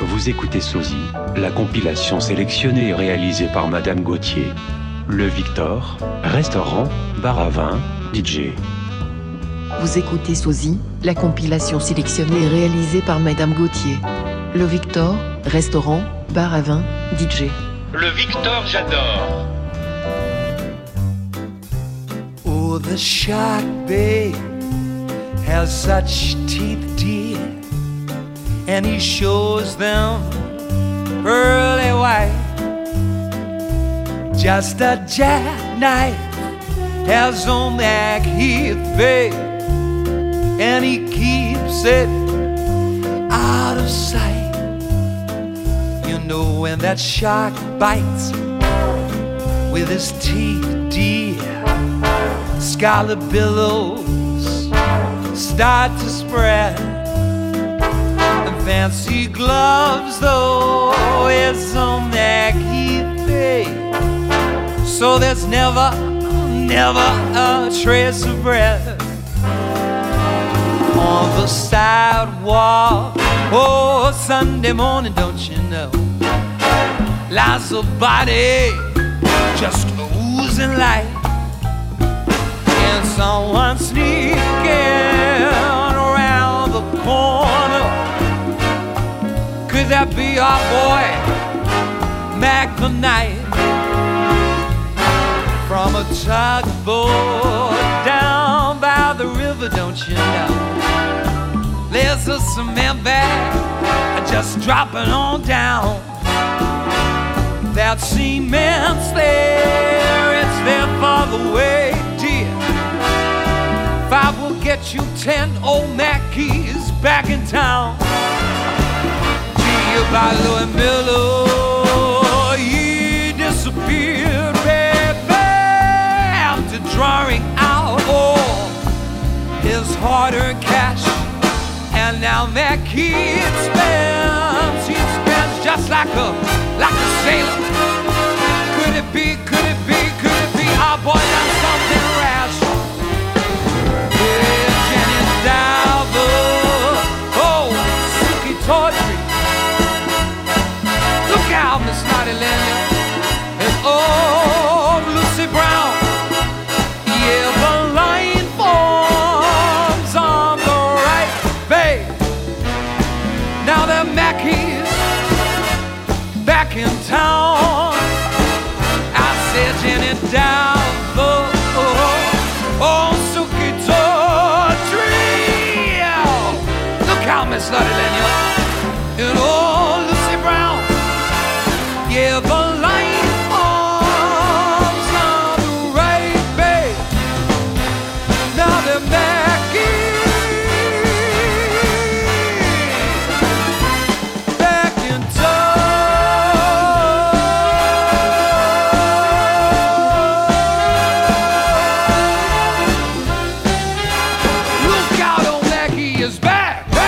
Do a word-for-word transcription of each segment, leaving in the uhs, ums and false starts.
Vous écoutez Sosie, la compilation sélectionnée et réalisée par Madame Gauthier. Le Victor, restaurant, bar à vin, D J. Vous écoutez Sosie, la compilation sélectionnée et réalisée par Madame Gauthier. Le Victor, restaurant, bar à vin, D J. Le Victor, j'adore. Oh, the shark, babe, has such teeth, dear, and he shows them pearly white. Just a jackknife has on that Heath, babe, and he keeps it out of sight. You know when that shark bites with his teeth, dear, scarlet billows start to spread, and fancy gloves though is on that Heath, babe, so there's never, never a trace of bread on the sidewalk. Oh, Sunday morning, don't you know, lies a body just oozing light, and someone sneaking around the corner. Could that be our boy, Mac the Knight? From a tugboat down by the river, don't you know, there's a cement bag just dropping on down. That cement's there, it's there for the way, dear. Five will get you ten old Mackeys back in town. Gee, by Louis Miller, he disappeared, baby, after drawing out all his hard-earned cash. And now Mackey spends, he spends just like a, like a sailor. Could it be, could it be, could it be our boy done something rash? Yeah, Jenny Diver, oh, Suki Tawdry, look out, Miss Naughty Lenya, and oh, Lucy Brown. Yeah, the line forms on the right, babe. Now they're Mackeys back in town. I said Jenny Diver, oh, oh, Suki Tawdry, look out, Miss Naughty Lenya, and oh, Lucy Brown. Yeah, the line arms on the right, babe. Now they're Mackeys back in town. Look out, old Mackey is back, back.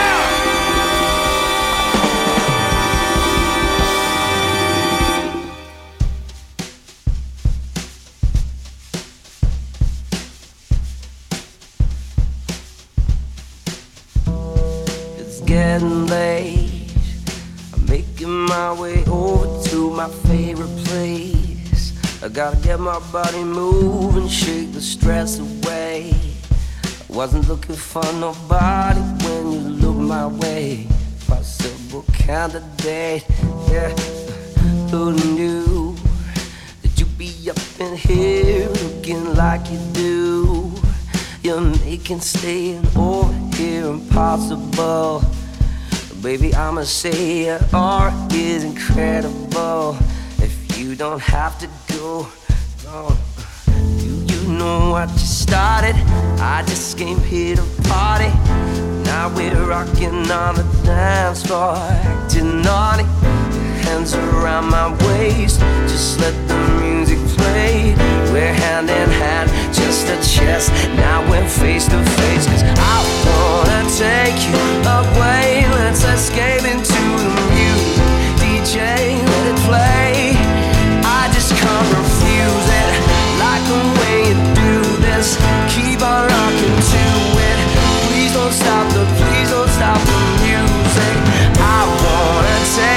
It's getting late. I'm making my way over to my favorite place. I gotta get my body moving, shake the stress away. I wasn't looking for nobody when you looked my way. Possible candidate, yeah. Who knew that you'd be up in here looking like you do? You're making staying over here impossible. Baby, I'ma say your art is incredible. If you don't have to go, go. Do you know what you started? I just came here to party. Now we're rocking on the dance floor, acting naughty. Hands around my waist, just let the music play. We're hand in hand, just a chest. Now we're face to face, cause I wanna take you away. Let's escape into the music. D J, let it play. I just can't refuse it. Like the way you do this. Keep on rocking to it. Please don't stop the, please don't stop the music. I wanna take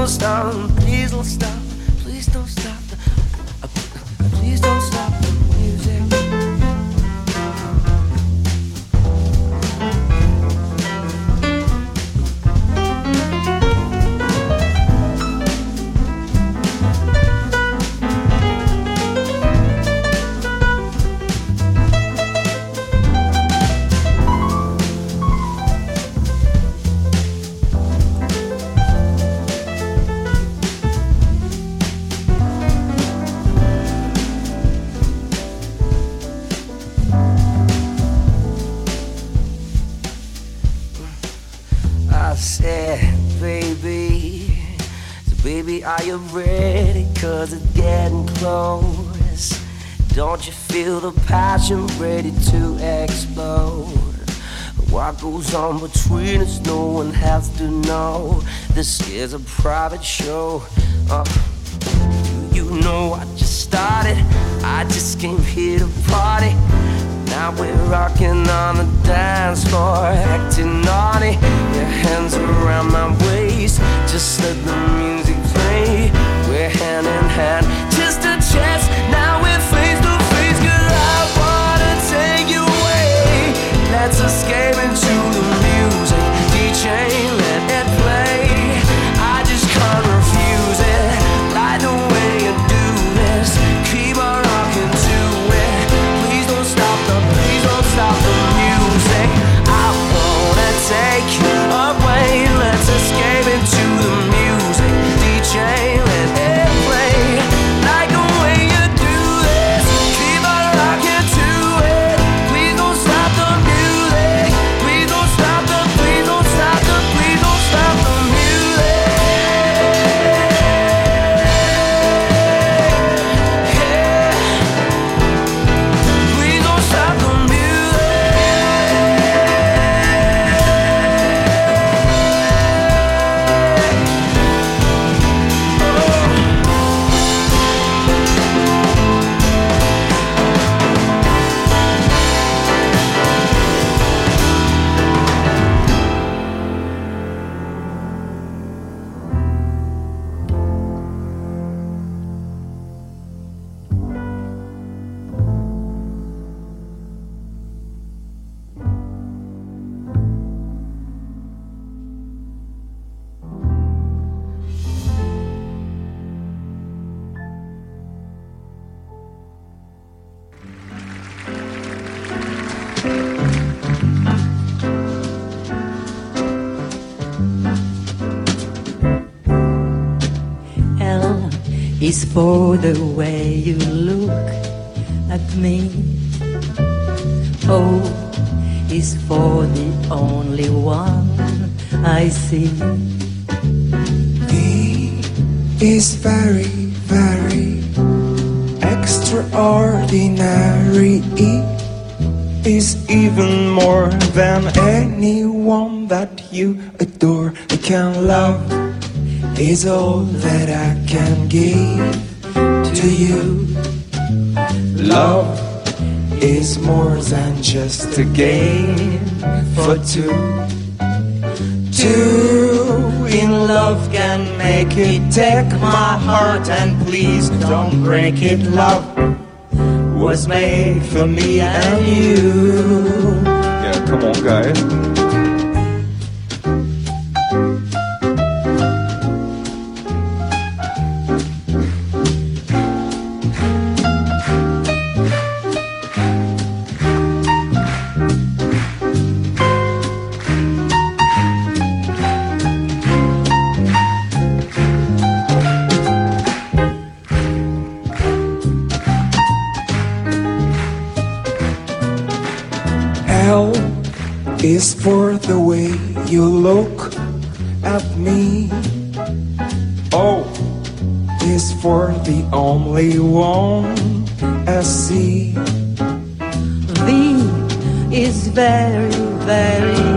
don't stop, please don't stop, please don't stop, uh, uh, please don't stop the music. I said, baby, so baby, are you ready? Cause it's getting close. Don't you feel the passion ready to explode? What goes on between us, no one has to know. This is a private show. uh, You know I just started, I just came here to party. Now we're rocking on the dance floor, acting naughty. Your hands around my waist, just let the music play. We're hand in hand, just a chance. Now we're face to face, cause I wanna take you away. Let's escape into the music, D J, let it play. I just can't refuse it, like the way you do this. Keep on rocking to it. Please don't stop the, please don't stop the music. I wanna take you away. Let's escape into the music, D J, let it play. Like the way you do this. Keep on rocking to it. Please don't stop the music. Please don't stop the, please don't stop the, please don't stop the music. Yeah. Please don't stop the music. L is for the way you look at me. O is for the only one I see. E is very, very extraordinary. E is even more than anyone that you adore. I can love is all that I can give to you. Love is more than just a game for two. Two in love can make it. Take my heart and please don't break it. Love was made for me and you. Yeah, come on, guys. L is for the way you look at me. O is for the only one I see. V is very, very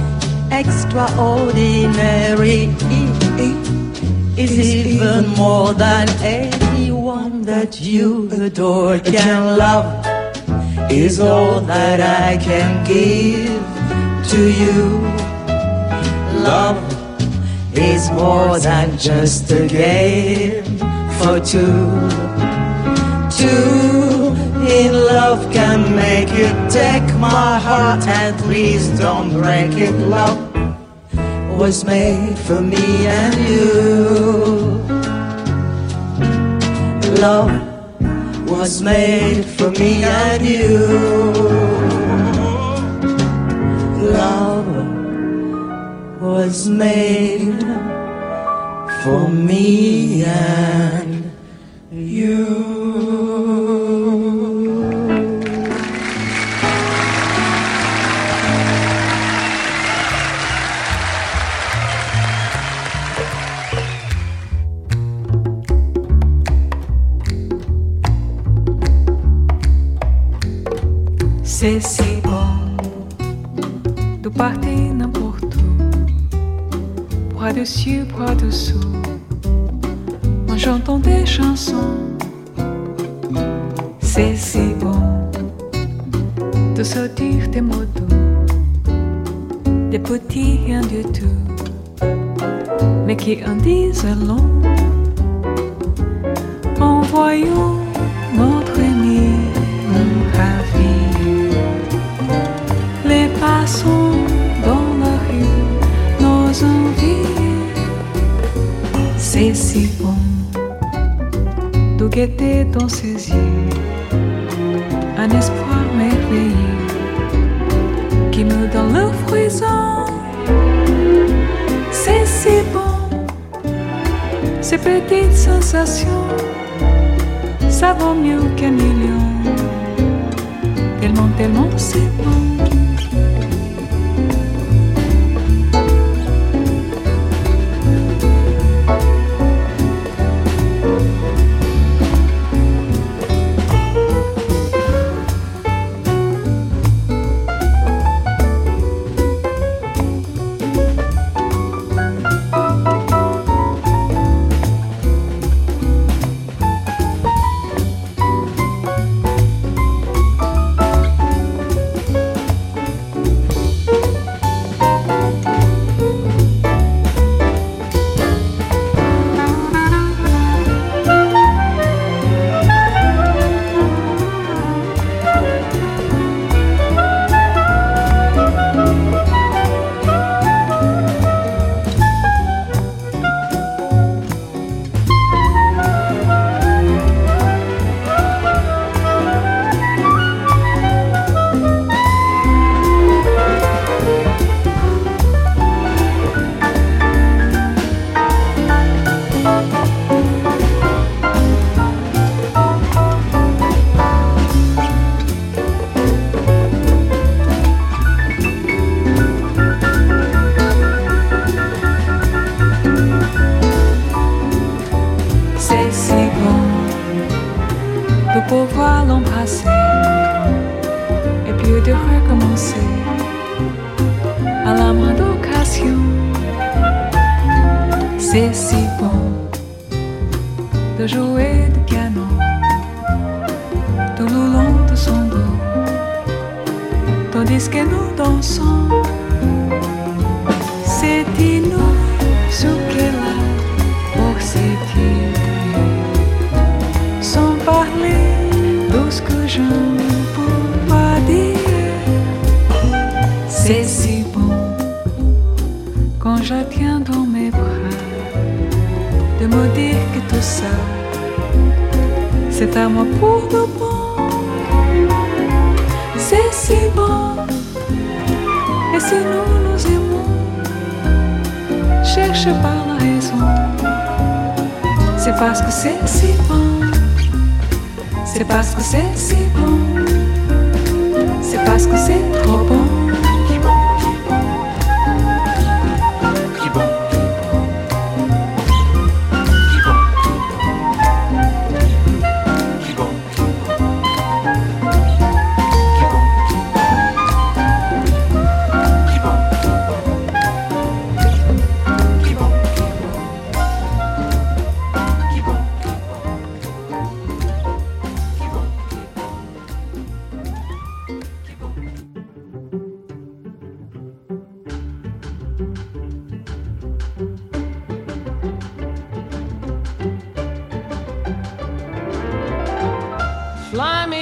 extraordinary. E is even more than anyone that you adore can love. Is all that I can give to you. Love is more than just a game for two. Two in love can make you take my heart, and please don't break it. Love was made for me and you. Love was made for me and you. Love was made for me and you. C'est si bon de partir n'importe où, bras dessus, bras dessous, en chantant des chansons. C'est si bon de sortir des mots doux, des petits rien du tout, mais qui en disent long. En voyant notre ami ravi, les passants dans la rue, nos envies. C'est si bon de guetter dans ses yeux un espoir merveilleux qui me donne le frisson. C'est si bon, ces petites sensations, ça vaut mieux qu'un million. Tellement, tellement c'est bon. Pouvoir l'embrasser et puis de recommencer à la moindre occasion. C'est si bon de jouer du piano tout le long de son dos, tandis que nous dansons. C'est inouï ce qu'elle a pour s'étirer sans parler de ce que je ne peux pas dire. C'est si bon quand je tiens dans mes bras de me dire que tout ça c'est à moi pour de bon. C'est si bon, et si nous nous aimons, cherche pas la raison. C'est parce que c'est si bon. C'est parce que c'est si bon. C'est parce que c'est trop bon. Keep on.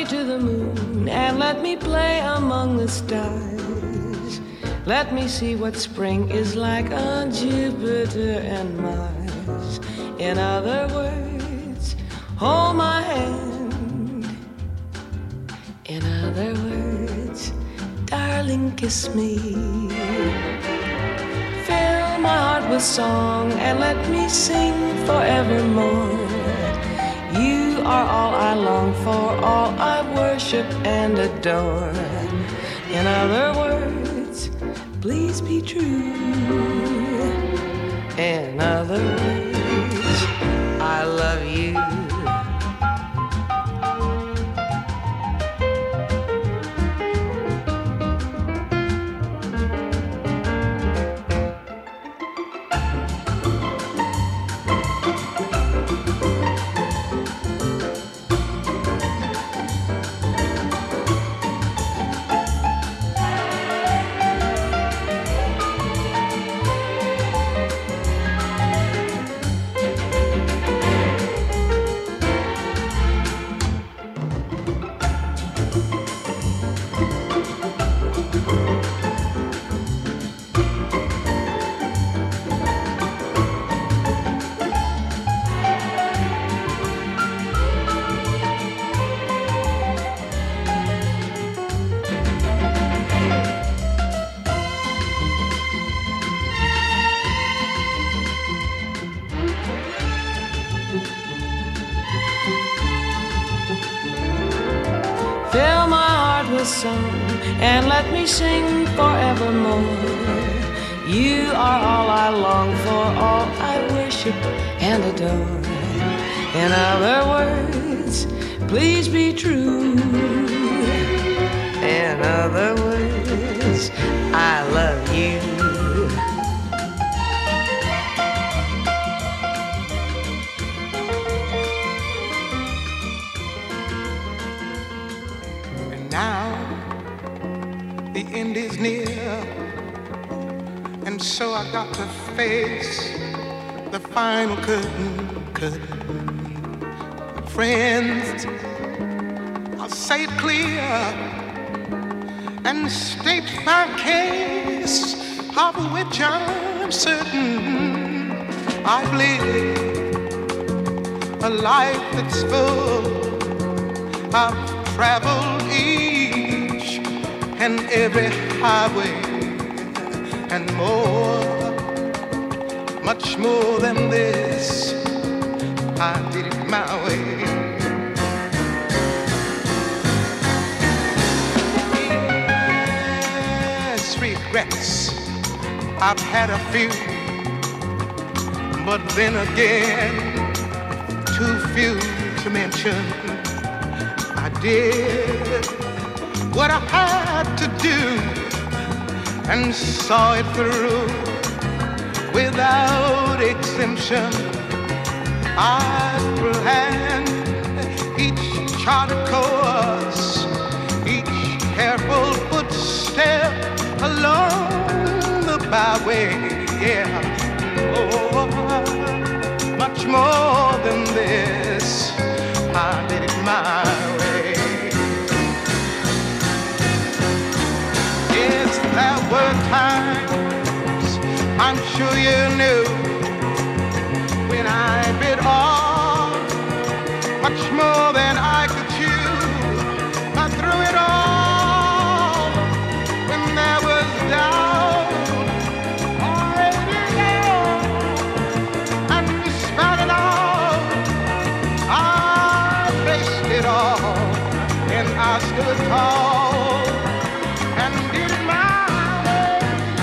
me to the moon and let me play among the stars. Let me see what spring is like on Jupiter and Mars. In other words, hold my hand. In other words, darling, kiss me. Fill my heart with song and let me sing forevermore. You are all I long for, all I worship and adore. In other words, please be true. In other words, I love you. Fill my heart with song and let me sing forevermore. You are all I long for, all I worship and adore. In other words, please be true. In other words, I love you. Now the end is near, and so I got to face the final curtain, curtain. Friends, I'll say it clear and state my case, of which I'm certain. I've lived a life that's full. I've traveled each and every highway and more, much more than this. I did it my way. Yes, regrets, I've had a few, but then again, too few to mention. I did what I had to do and saw it through without exemption. I planned each charted course, each careful footstep along the byway. Yeah, oh, much more than this, I did it my way. Yes, there were times, I'm sure you knew, when I bit off much more than I could chew. But through it all, when there was doubt, I did it all, and despite it all, I faced it all, and I stood tall and did it my way.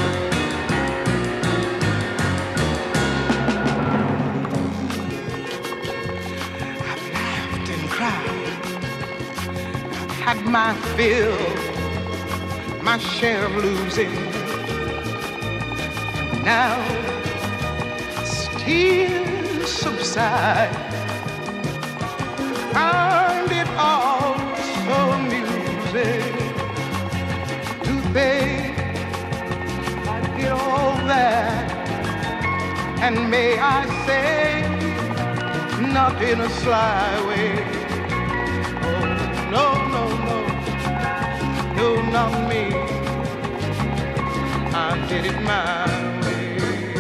I've laughed and cried, I've had my fill, my share of losing. Now as tears subside, find it all so amusing to think I did all that, and may I say, not in a sly way. Oh, no, no. on me. I did it my way.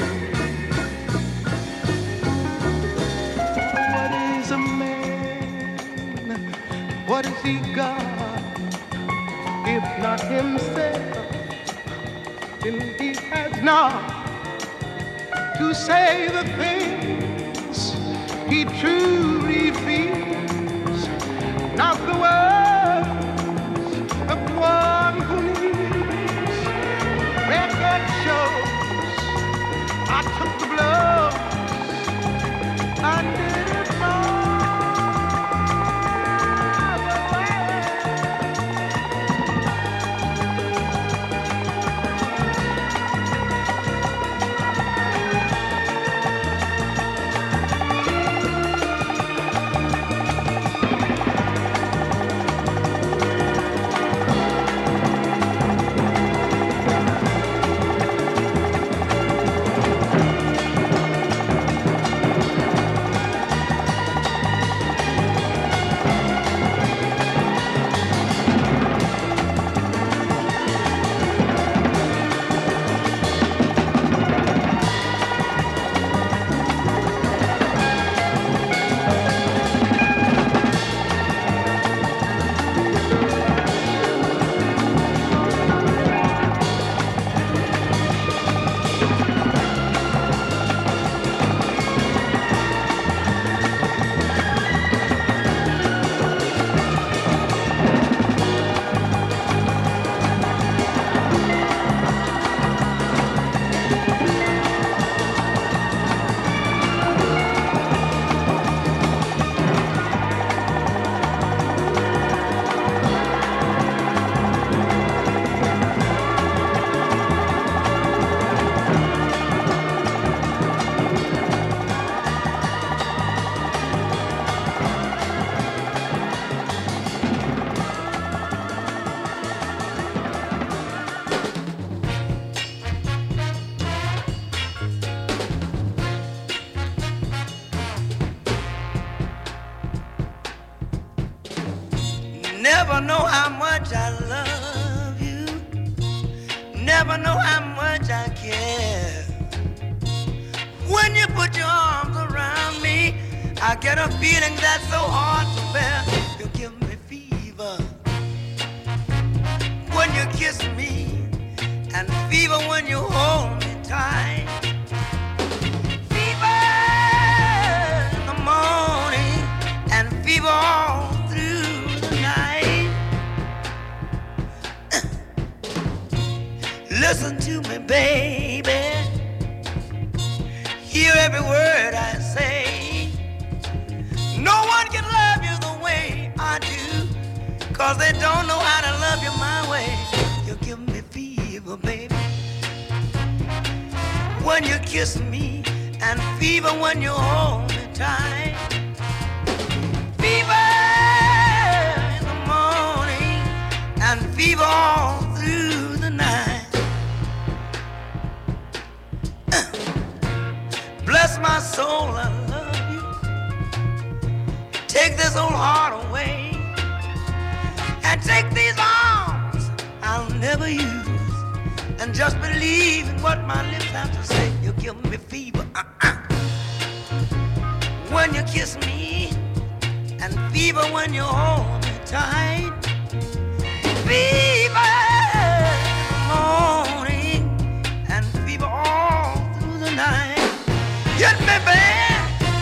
What is a man? What has he got? If not himself, then he has not to say the things he truly feels. Not the words of one who needs. Record shows I took the blows. I did it my way. Never know how much I love you. Never know how much I care. When you put your arms around me, I get a feeling that's so hard to bear. You give me fever when you kiss me, and fever when you hold me tight. Fever in the morning and fever all through the night. Listen to me, baby. Hear every word I say. No one can love you the way I do, 'cause they don't know how to love you my way. You give me fever, baby, when you kiss me, and fever when you hold me tight. Fever in the morning and fever all through the night. Bless my soul, I love you. Take this old heart away, and take these arms I'll never use, and just believe in what my lips have to say. You give me fever uh-uh. when you kiss me, and fever when you hold me tight. Fever in the morning and fever all through the night. Hit me, babe.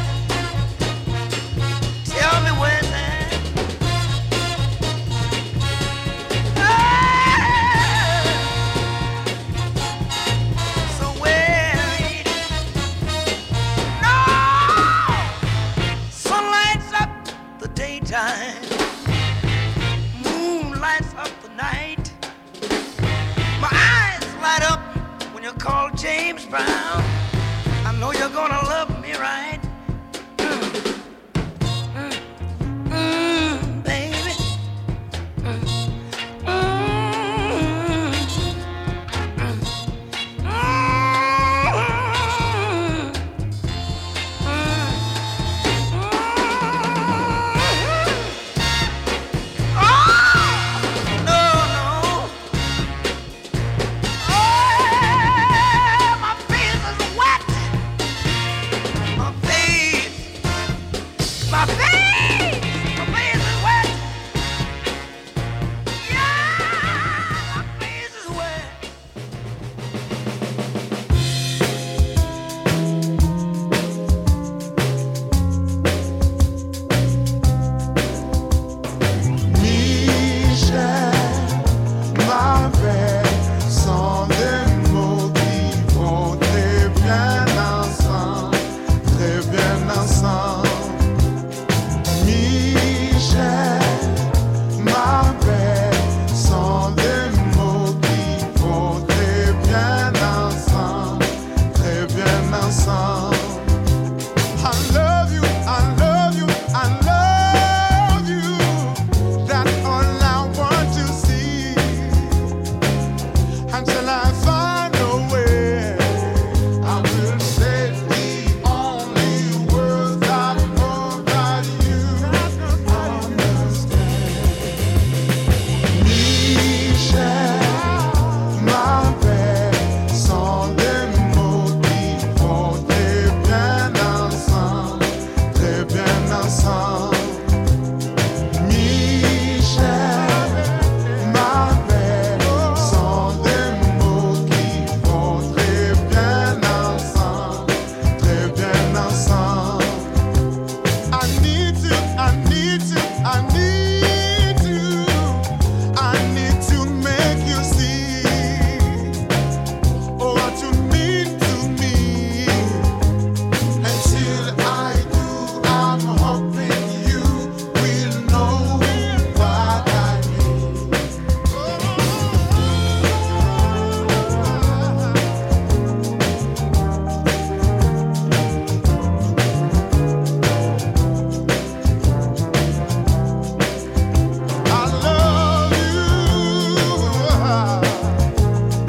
Tell me where's that. Ah, so where it is. No! Sun lights up the daytime. Moon lights up the night. My eyes light up when you call James Brown. I know you're gonna love me right. Mm. Mm. Mm, baby. Mm. Mm. Mm. Mm. Oh, no, no. ensemble. I love you, I love you, I love you. That's all I want to see. Until I find a way, I will say the only words I know that you understand. Michel, ma belle, sans des mots qui vont très bien ensemble, très bien ensemble. Michel, ma belle, sans des mots qui vont très bien ensemble, très bien ensemble. I need to, I need to, I need to, I need to make you see oh, what you mean to me. Until I do, I'm hoping you will know what I mean. I love you. I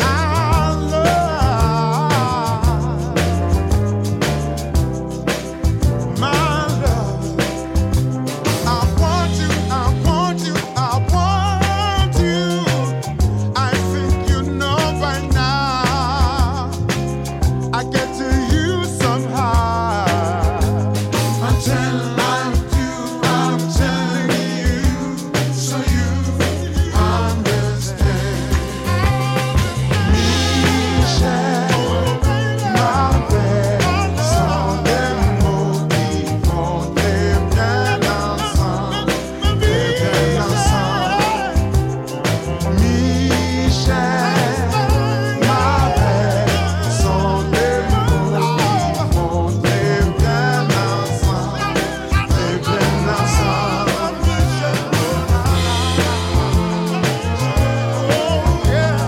love my love. I want you, I want you, I want you. I think you know by now. I get to you somehow. Until I do, I'm telling you, so you understand. Michel, ma belle, sans des mots qui vont très bien ensemble, très bien ensemble. Michel, ma belle, sans des mots qui vont très bien ensemble, très bien ensemble. Oh yeah.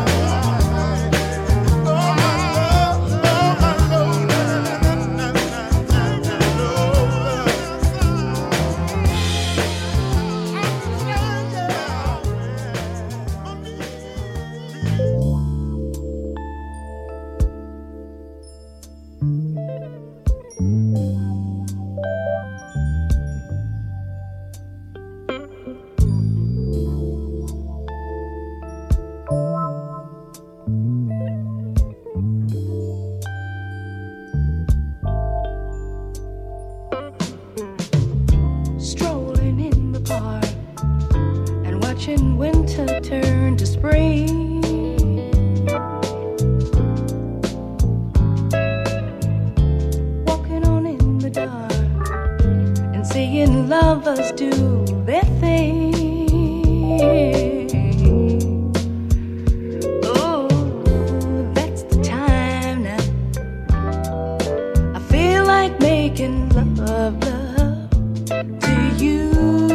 Oh my love, oh my love, na na na na na Strolling in the park and watching winter turn to spring. Walking on in the dark and seeing lovers do their thing. Oh, that's the time now. I feel like making love, love to you.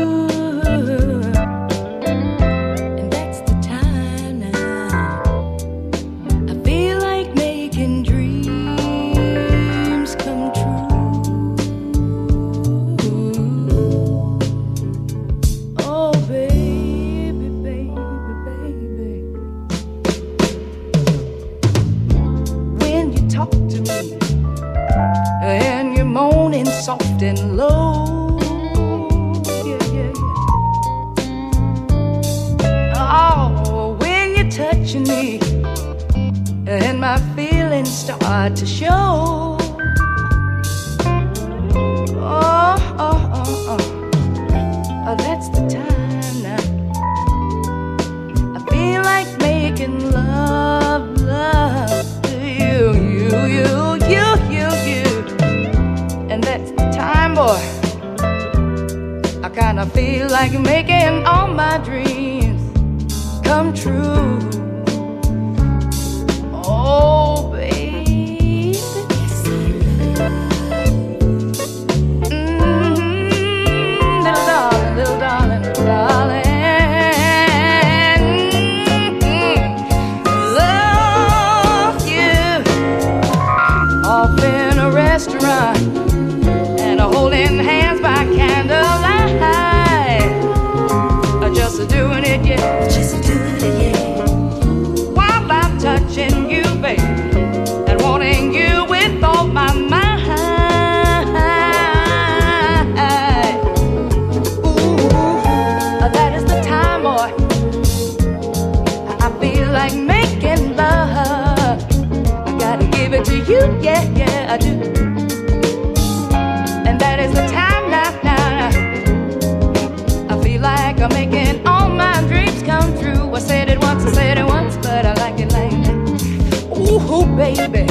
And that's the time now. I feel like making dreams come true. Oh, baby, baby, baby. When you talk to me and you're moaning soft and low, yeah, yeah, yeah. Oh, when you're touching me and my feelings start to show. Oh, oh, oh, oh, oh, that's the time now. I feel like making love, love to you, you, you, you, you, you. And that's the time, boy. I kinda feel like making all my dreams come true. Oh, baby. Mm-hmm. Little darling, little darling, little darling. Mm-hmm. Love you off in a restaurant and holding hands by candlelight, just doing it, yeah, just doing it, yeah. While I'm touching you, baby, and wanting you with all my mind. Ooh, that is the time, boy. I feel like making love. I gotta give it to you, yeah, yeah, I do. And that is the time now, now. I feel like I'm making all my dreams come true. I said it once, I said it once, but I like it like that. Ooh, baby.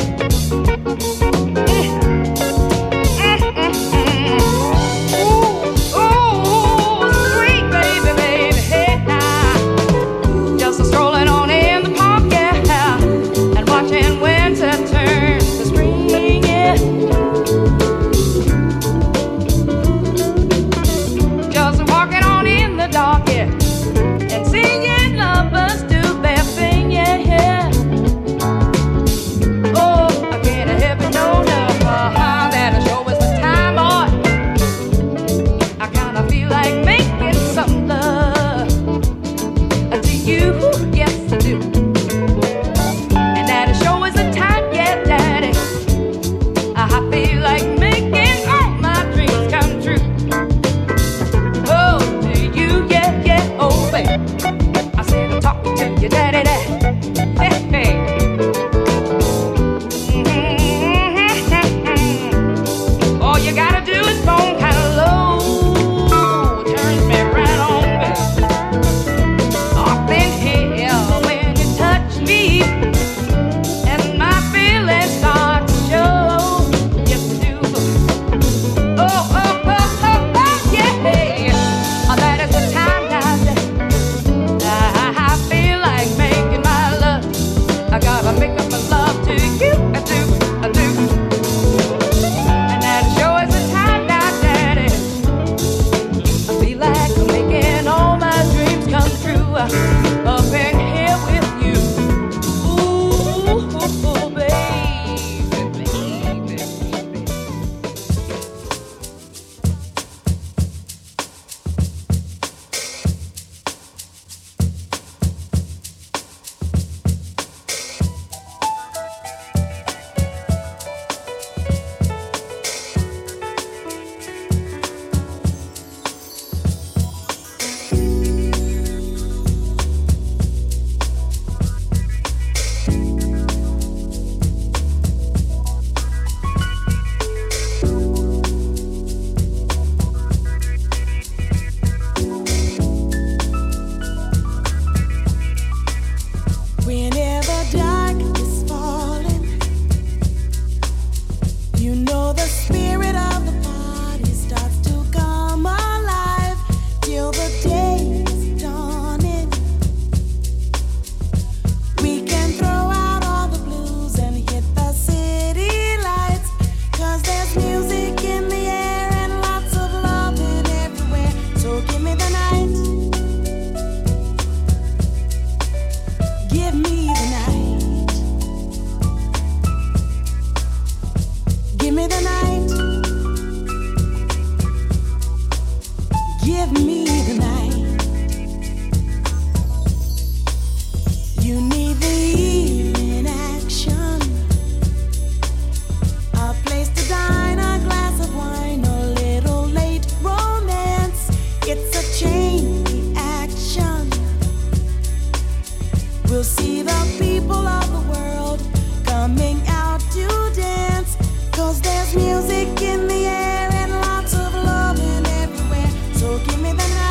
Music in the air and lots of loving everywhere. So give me the night.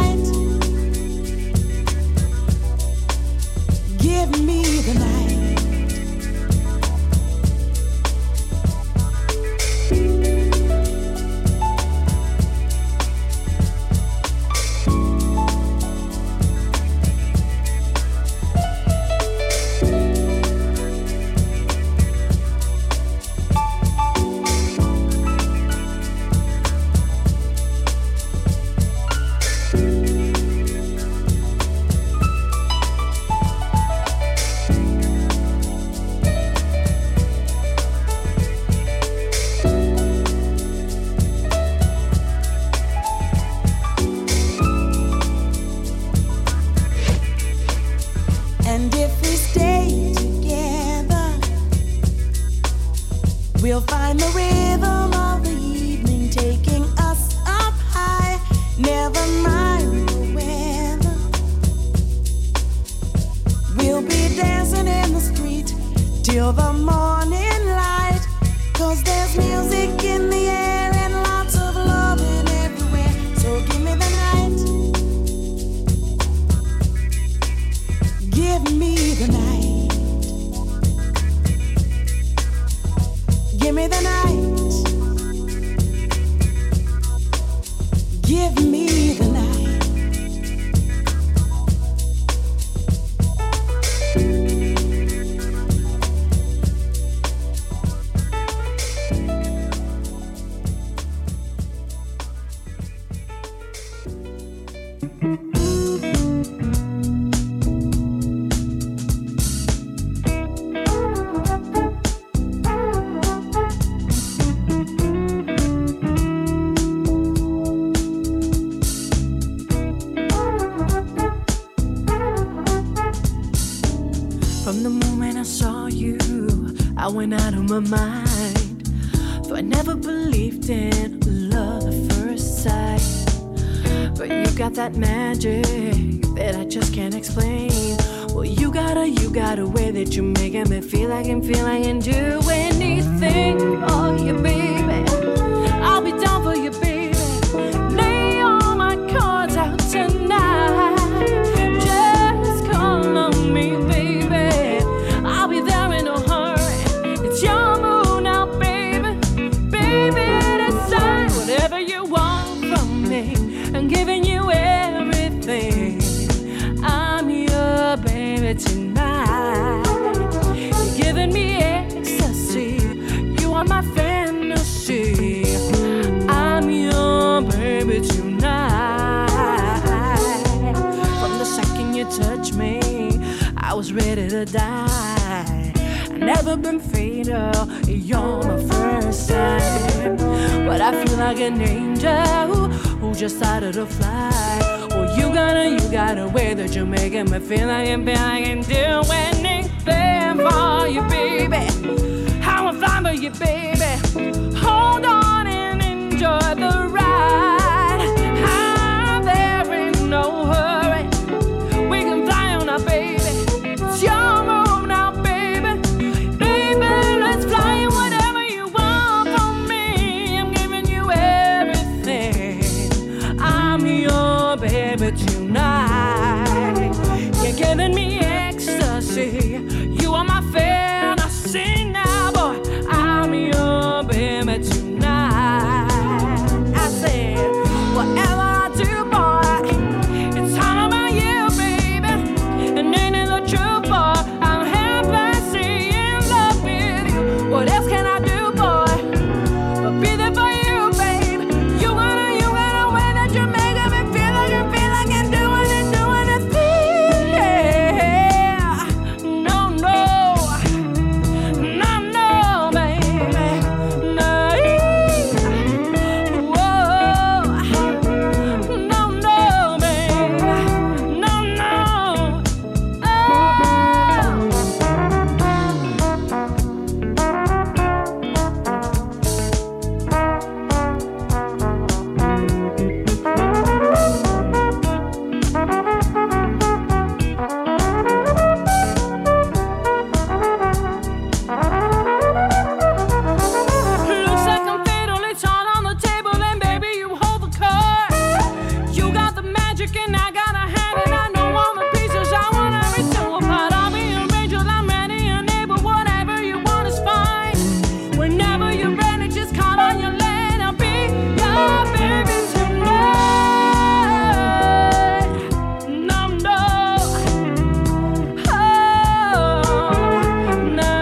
went out of my mind. Though I never believed in love at first sight. But you got that magic that I just can't explain. Well, you got a, you got a way that you're making me feel like I can feel I can do anything for you, baby. I'll be down for you, baby. Lay all my cards out tonight. Just call on me, baby. I'll be there in no hurry. It's your mood now, baby. Baby, decide whatever you want from me. I'm giving you everything. I'm your baby tonight. You're giving me ecstasy. You are my fantasy. I'm your baby tonight. From the second you touched me, I was ready to die. I've never been fatal. You're my first time. But I feel like an angel who just started to fly. Well, you got a, you got a way that you're making me feel like I feel I can do anything for you, baby. How I'm flying for you, baby. Hold on and enjoy the ride. I'm there in no hurry. We can fly on now, baby. It's your move now, baby. Baby, let's fly whatever you want from me. I'm giving you everything. I'm your baby tonight. You're giving me ecstasy. You are my fantasy now, boy. I'm your baby tonight. I said, whatever I do, boy, it's all about you, baby. And ain't it the truth, boy? I'm helplessly in love with you. What else can I do, boy, but be there for you, baby? You gotta, you got a way that you're making me feel like I feel like I'm doing it, doing it, yeah. No, no, no, no, baby, no. Whoa, no, no, baby, no, no. Looks like I'm fatal, it's all on the table, and baby, you hold the card. You got the magic, and I got a hand, and I know all the pieces. I want every single part. I'll be your angel, I'm ready and able. Whatever you want is fine. Whenever you're ready, just call on your lane. I'll be your baby tonight. No, no, oh, no.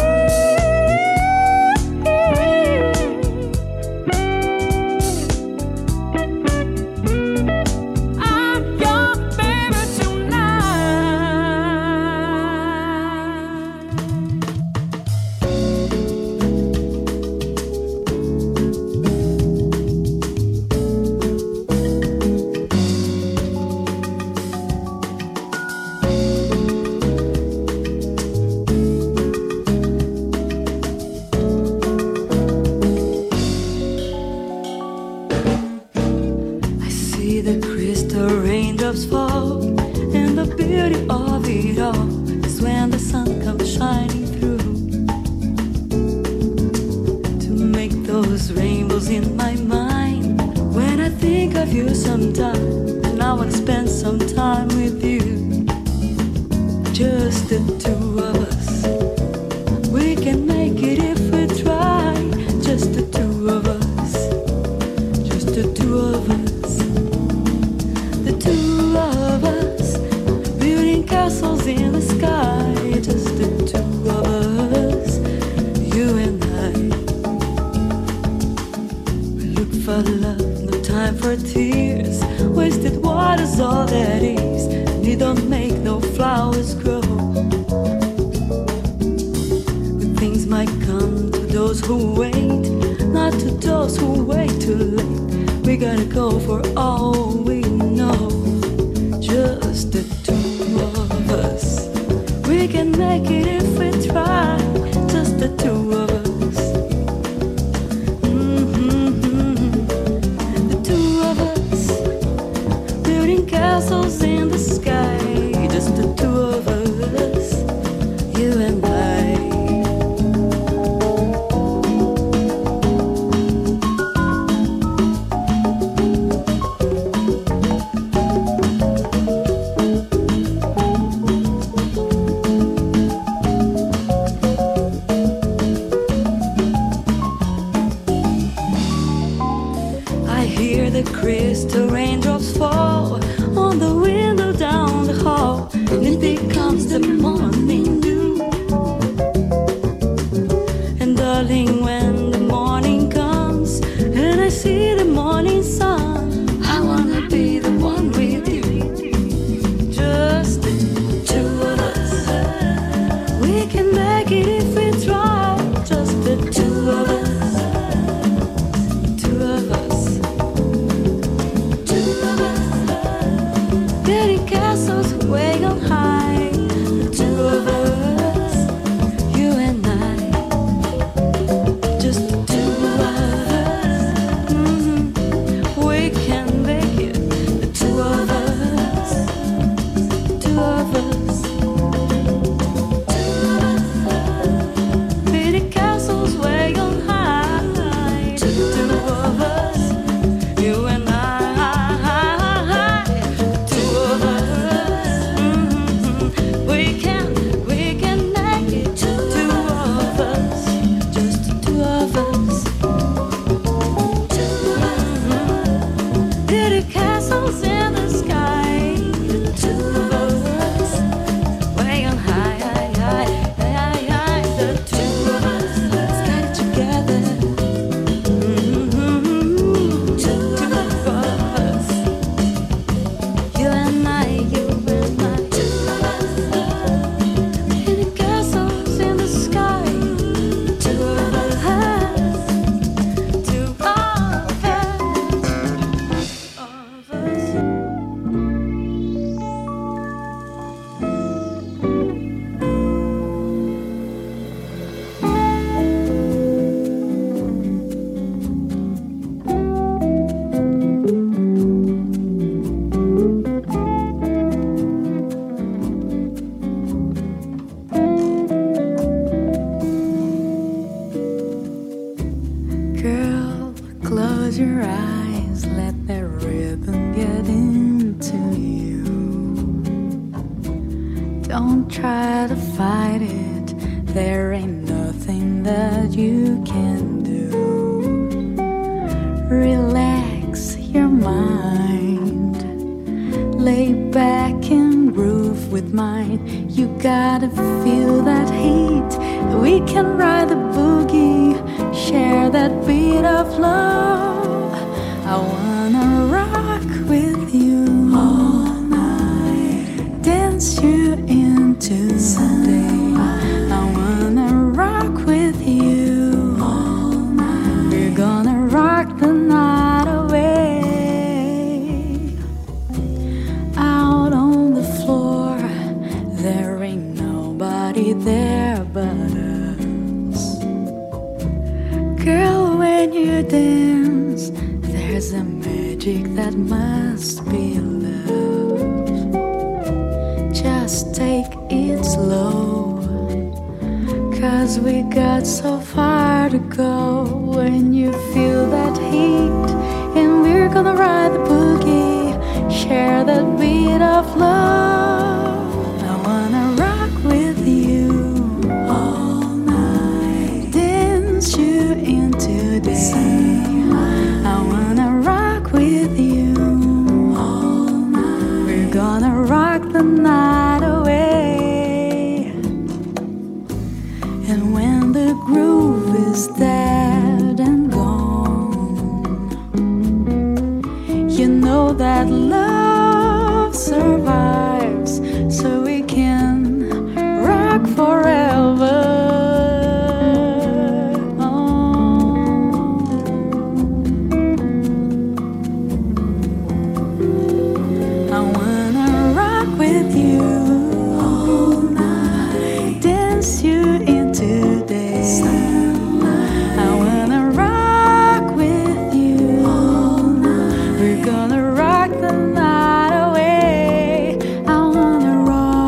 I'm your baby tonight. I see the crystal raindrops fall, and the beauty of it all is when the sun comes shining through to make those rainbows in my mind. When I think of you sometime, and I want to spend some time with you, just the two of us. We can make it if we try, just the two of us, just the two of us. The two of us, building castles in the sky. Just the two of us, you and I. We look for love, no time for tears. Wasted water's all that is, and it don't make no flowers grow. Good things might come to those who wait, not to those who wait too late. We gotta go for all we know. Just the two of us. We can make it if we try. Just the two the crystal raindrops fall on the window down the hall, and it becomes the morning dew. And darling, when the morning comes and I see the morning sun, I wanna be the one with you. Just the two of us. We can make it if we try. Just the two of us. Two of us. Two of us. Building castles way up high. The two of us. You and I. Just the two of us. Mm-hmm. We can make it. The two of us. Two of us. Pretty castles way on high. Two of us. You and I. Two of us. Mm-hmm. We can, we can make it. Two of us. Just the two of us. Mm-hmm. Pretty castles in the sky. The two of us. Way on high, high, high, high, high. The two of us. Let's get it together. Mm-hmm. Two of us. You and I, you and I. Two of us. Pretty castles in the sky. Two of us. Two of us. Of us. Girl, close your eyes, let the rhythm get into you. Don't try to fight it, there ain't nothing that you can do. Relax your mind, lay back and groove with mine. You gotta feel that heat, we can ride the boogie, share that beat of love. I wanna rock with you all night, dance you into the day. I wanna rock with you all night. We're gonna rock the night away. Out on the floor, there ain't nobody there but us. Girl, when you dance, there's a magic that must be love. Just take it slow, 'cause we got so far to go. When you feel that heat, and we're gonna ride the boogie, share that beat of love. I wanna rock with you all night, dance you into day. I wanna rock with you all night. We're gonna rock the night away. And when the groove is dead and gone, you know that love survives, so we can rock forever. I wanna rock with you all night, dance you into day. I wanna rock with you all night. We're gonna rock the night away. I wanna rock.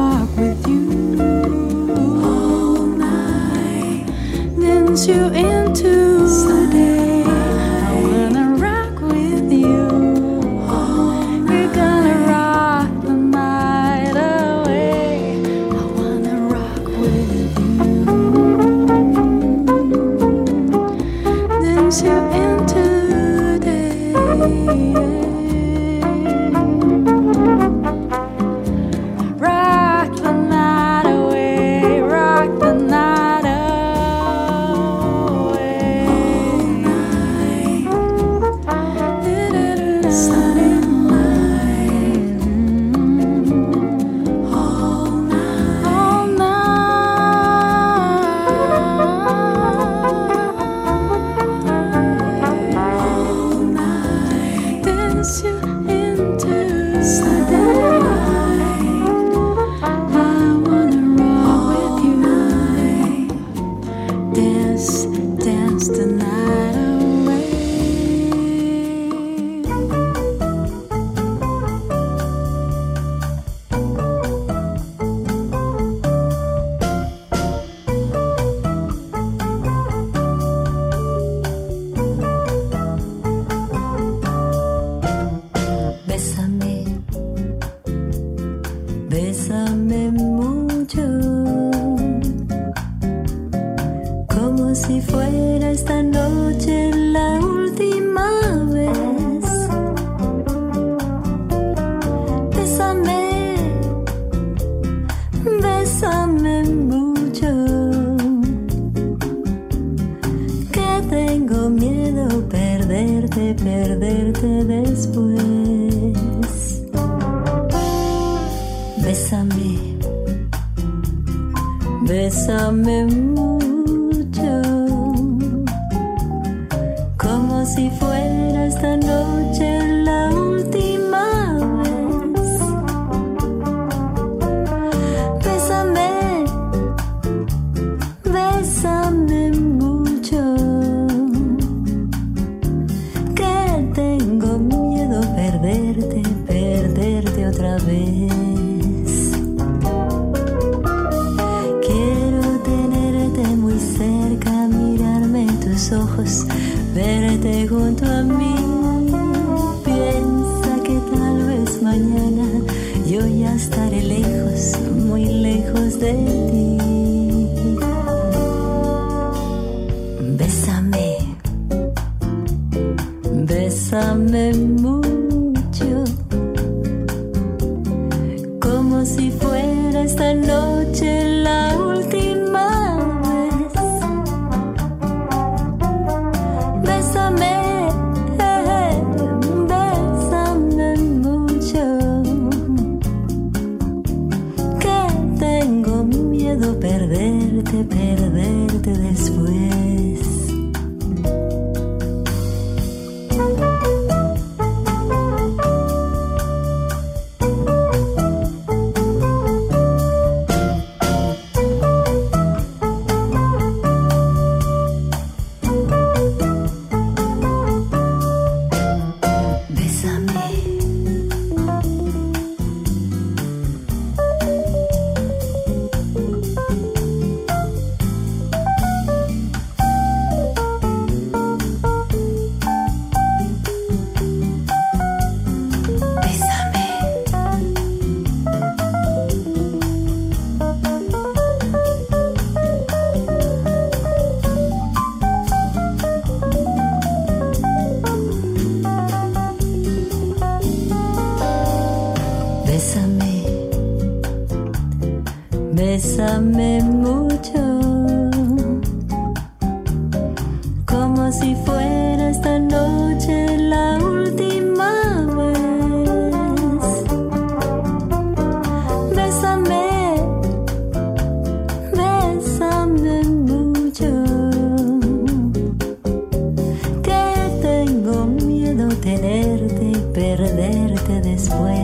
Bésame mucho, como si fuera esta noche la última vez. Bésame, bésame mucho, que tengo miedo tenerte y perderte después.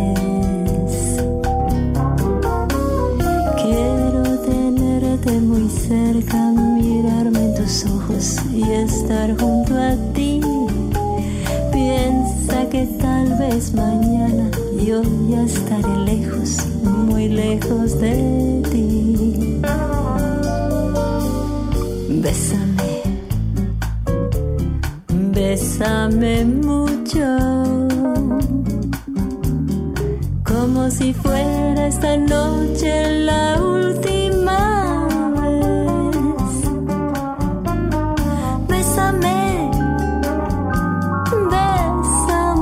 Muy cerca, mirarme en tus ojos y estar junto a ti. Piensa que tal vez mañana yo ya estaré lejos, muy lejos de ti. Bésame, bésame mucho, como si fuera esta noche la última. Bésame, bésame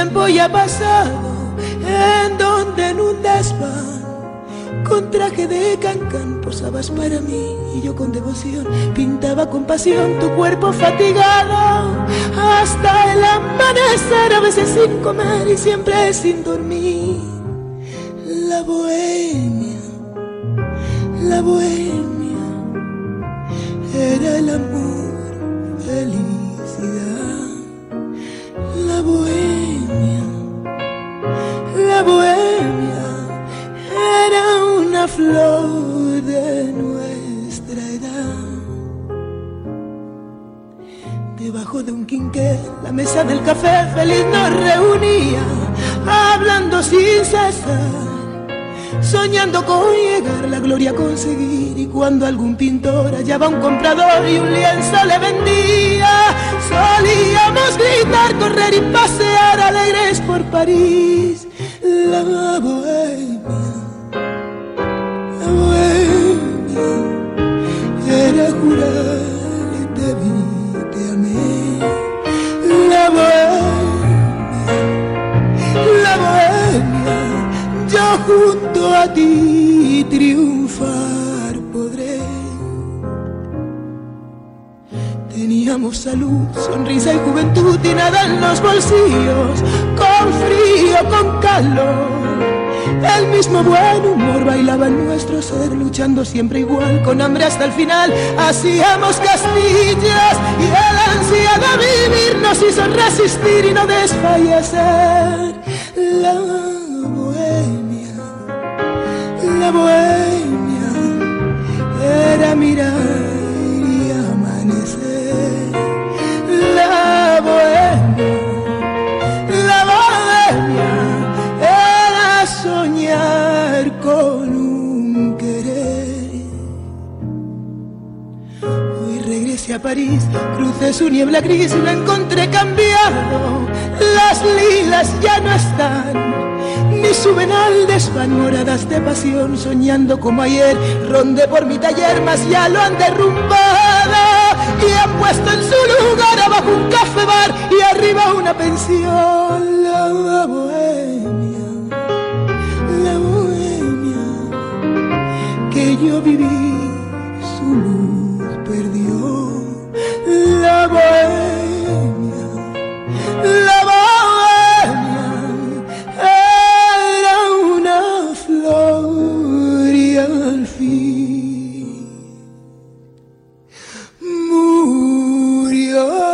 tiempo ya pasado, en donde en un desván, con traje de cancán, posabas para mí y yo con devoción pintaba con pasión tu cuerpo fatigado hasta el amanecer, a veces sin comer y siempre sin dormir. La bohemia, la bohemia era el amor, felicidad. La bohemia, la bohemia era una flor de nuestra edad. Debajo de un quinqué, la mesa del café feliz nos reunía, hablando sin cesar, soñando con llegar, la gloria a conseguir. Y cuando algún pintor hallaba un comprador y un lienzo le vendía, solíamos gritar, correr y pasear alegres por París. La bohemia, la bohemia era jurar y te vi, te amé. La bohemia, la bohemia, yo junto a ti triunfar podré. Teníamos salud, sonrisa y juventud y nada en los bolsillos, con frío, con calor. El mismo buen humor bailaba en nuestro ser, luchando siempre igual, con hambre hasta el final. Hacíamos castillas y el ansia de vivir nos hizo resistir y no desfallecer. La bohemia, la bohemia era mirar y amanecer. La bohemia, la bohemia era soñar con un querer. Hoy regresé a París, crucé su niebla gris y lo encontré cambiado. Las lilas ya no están, ni suben al desván, moradas de pasión, soñando como ayer. Rondé por mi taller, mas ya lo han derrumbado y han puesto en su lugar abajo un café bar y arriba una pensión. La bohemia, la bohemia que yo viví, su luz perdió. La bohemia, la bohemia era una flor y al fin murió.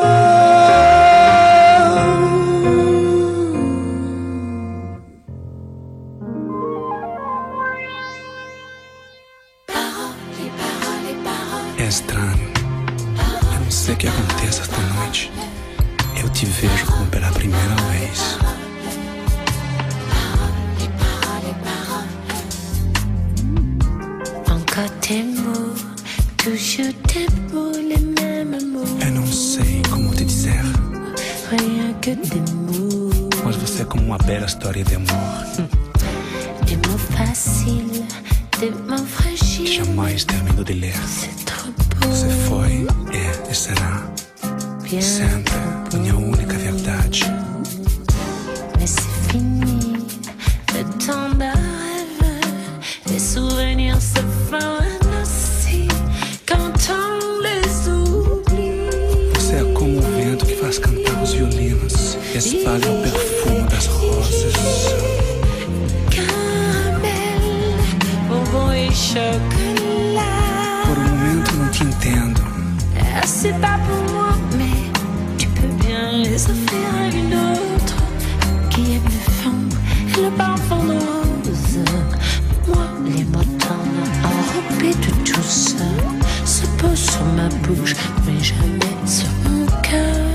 É estranho, eu não sei o que acontece esta noite. Eu te vejo como pela primeira vez. Encore tes mots, toujours tes mots, les mêmes mots. Eu não sei como te dizer, Rien que des mots. mas você é como uma bela história de amor Des mots faciles, des mots fragiles. que jamais termino de ler. C'est trop beau. Você foi, é e será Bien sempre minha única verdade. Mais c'est fini, le temps d'un rêve. Les souvenirs se fanent aussi quand on les oublie. Você é como o vento que faz cantar os violinos e espalha o perfume das rosas. Caramel, bonbon et chocolat. Por um momento não te entendo. Ah, c'est pas pour moi, mais tu peux bien les offrir à une autre qui aime le fond et le parfum de rose. Moi, les mots tendres enrobés de douceur se posent sur ma bouche, mais jamais sur mon cœur.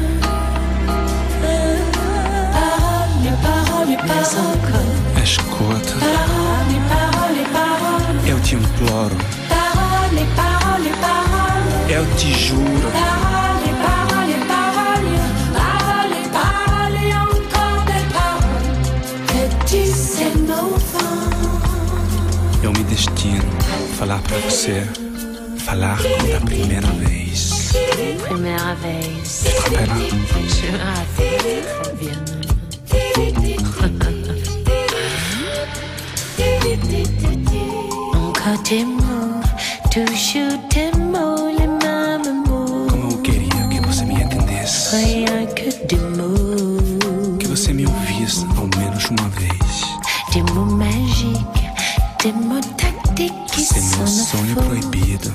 Paroles, les paroles, les paroles. Escuta, Paroles, les paroles, les paroles. eu te imploro, Paroles, les paroles, les paroles. eu te juro. Paroles, paroles, paroles, paroles, paroles, et encore des paroles que disent nos vents. Eu me destino a falar pra você, falar como da primeira vez. Première vez, Te rappelle? je me rappelle très bien. Encore des mots, toujours des mots, les mêmes mots. Como eu queria que você me entendesse. Rien que des mots. Que você me ouvisse ao menos uma vez. Des mots magiques, des mots tactiques qui Você é meu sonho proibido.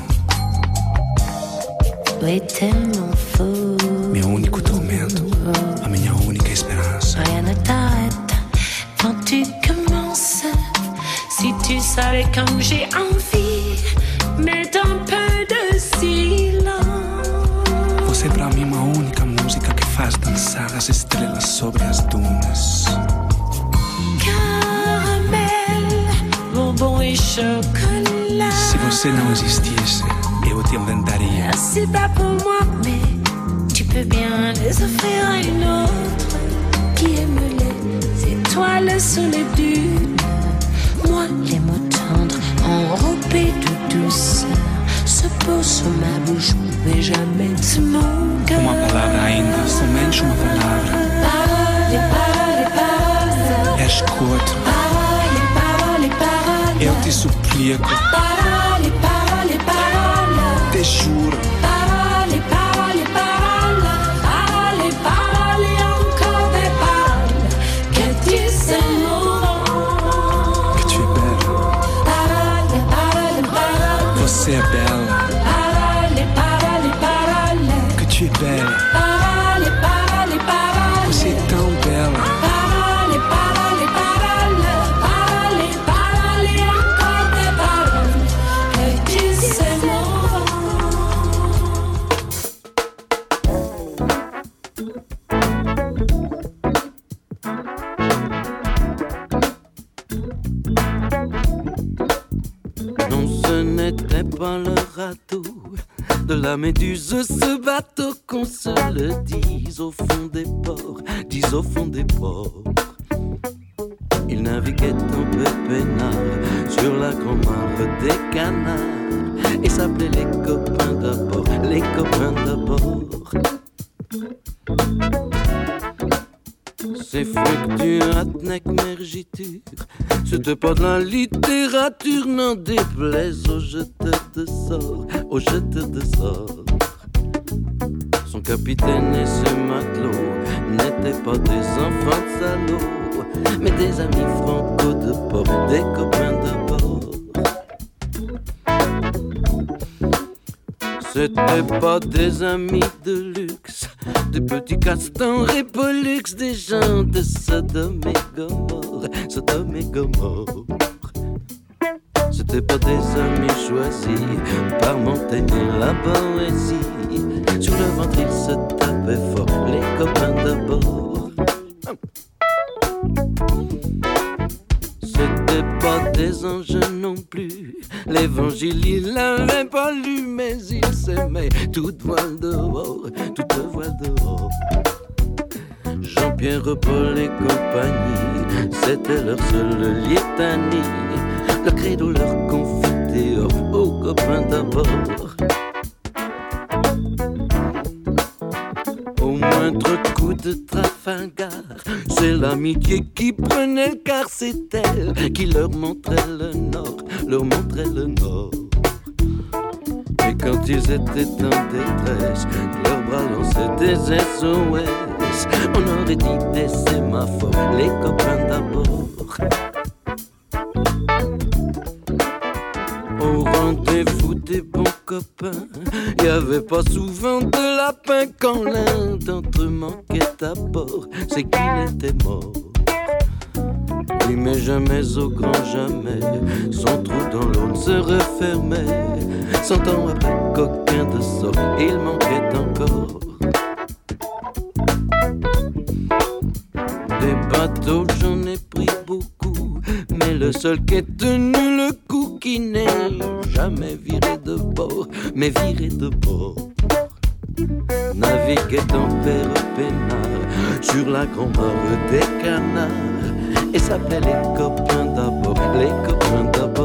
Oui, tellement faux. Meu único tormento, a minha única esperança. Rien ne t'arrête quand tu commences. Si tu savais comme j'ai envie, mais un peu de silence. Você é pra mim uma única música que faz dançar as estrelas sobre as dunas. Caramel, bonbon et chocolat. Se você não existisse, eu te inventaria. C'est pas pour moi, mais tu peux bien les offrir à une autre qui aime les étoiles sous les dunes. Moi, les mots tendres, enrobés de douceur, se posent sur ma bouche, mais jamais de mon cœur. Uma palavra ainda, somente uma palavra. Parole, parole, parole. És corto. Parole, parole, parole. Eu te suplico. Parole, parole, parole. Te juro. Parole, parole, parole. Parole, parole, encore des paroles. Que tu sais Que tu es belle. Parole, parole, parole. Você é bela. Parole, parole, parole. Que tu es belle. Parole, parole, parole. Você é tão bela. Parole, parole, parole. Parole, parole, encore des paroles. Que tu sais Non, ce n'était pas le radeau de la méduse, ce bateau qu'on se le dise au fond des ports, dis au fond des ports. Il naviguait un peu peinard sur la grand-mare des canards et s'appelait les copains d'abord, les copains d'abord. C'est fluctuatnec mergiture, c'était pas de la littérature, n'en déplaise aux jeteurs de sorts, aux jeteurs de sorts. Son capitaine et ses matelots n'étaient pas des enfants de salauds, mais des amis franco de port, des copains de bord. C'était pas des amis de luxe, des petits castans et pollux, des gens de Sodome et Gomorre, Sodome et Gomorre. C'était pas des amis choisis par Montaigne et la poésie. Sur le ventre ils se tapaient fort, les copains d'abord. C'était pas des anges non plus, l'évangile il l'avait pas lu, mais il s'aimait toute voile dehors, toute voile dehors. Jean-Pierre, Paul et compagnie, c'était leur seule litanie, le credo leur confitait aux copains d'abord. Au moindre coup de Trafalgar, c'est l'amitié qui prenait le quart, c'est elle qui leur montrait le nord, leur montrait le nord. Et quand ils étaient en détresse, leurs bras lançaient des S O S, on aurait dit des sémaphores, les copains d'abord. Au rendez-vous des bons copains, y avait pas souvent de lapin. Quand l'un d'entre eux manquait à bord, c'est qu'il était mort. Oui, mais jamais au grand jamais, son trou dans l'eau ne se refermait. Cent ans après qu'aucun de sort, il manquait encore. Des bateaux j'en ai pris beaucoup, mais le seul qui est tenu le coup, qui n'est jamais viré de bord, mais viré de bord, naviguait en père peinard sur la grand-mare des canards et s'appelait les copains d'abord, les copains d'abord.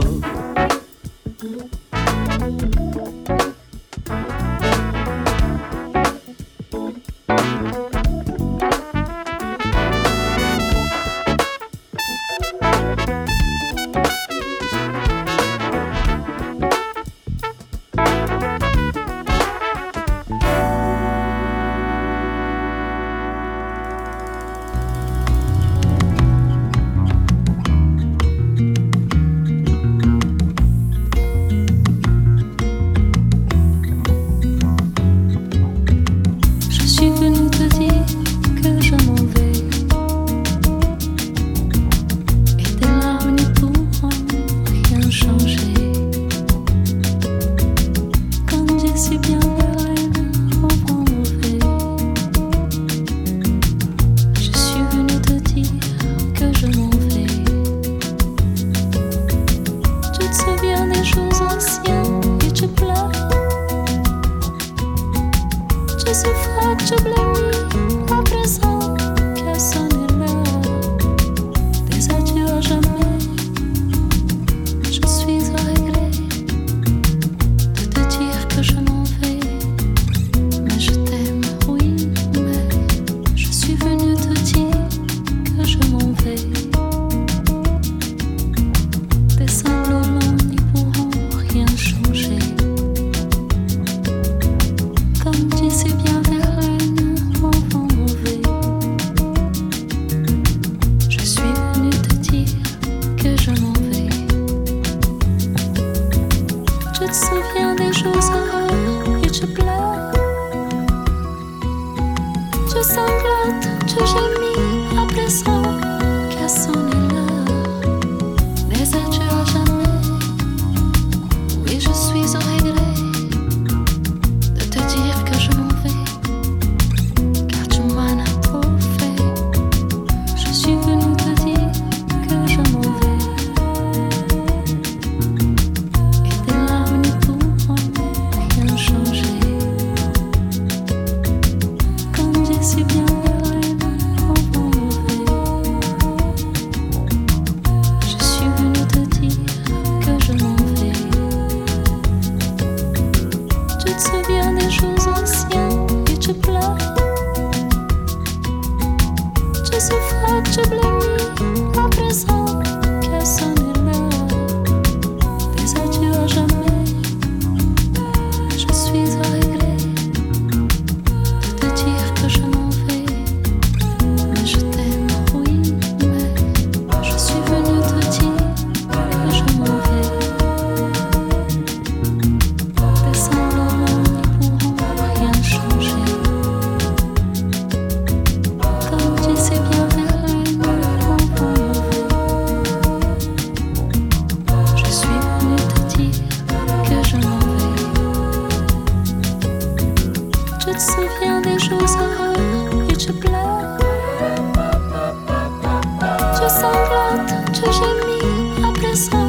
Je gémis, appelle ça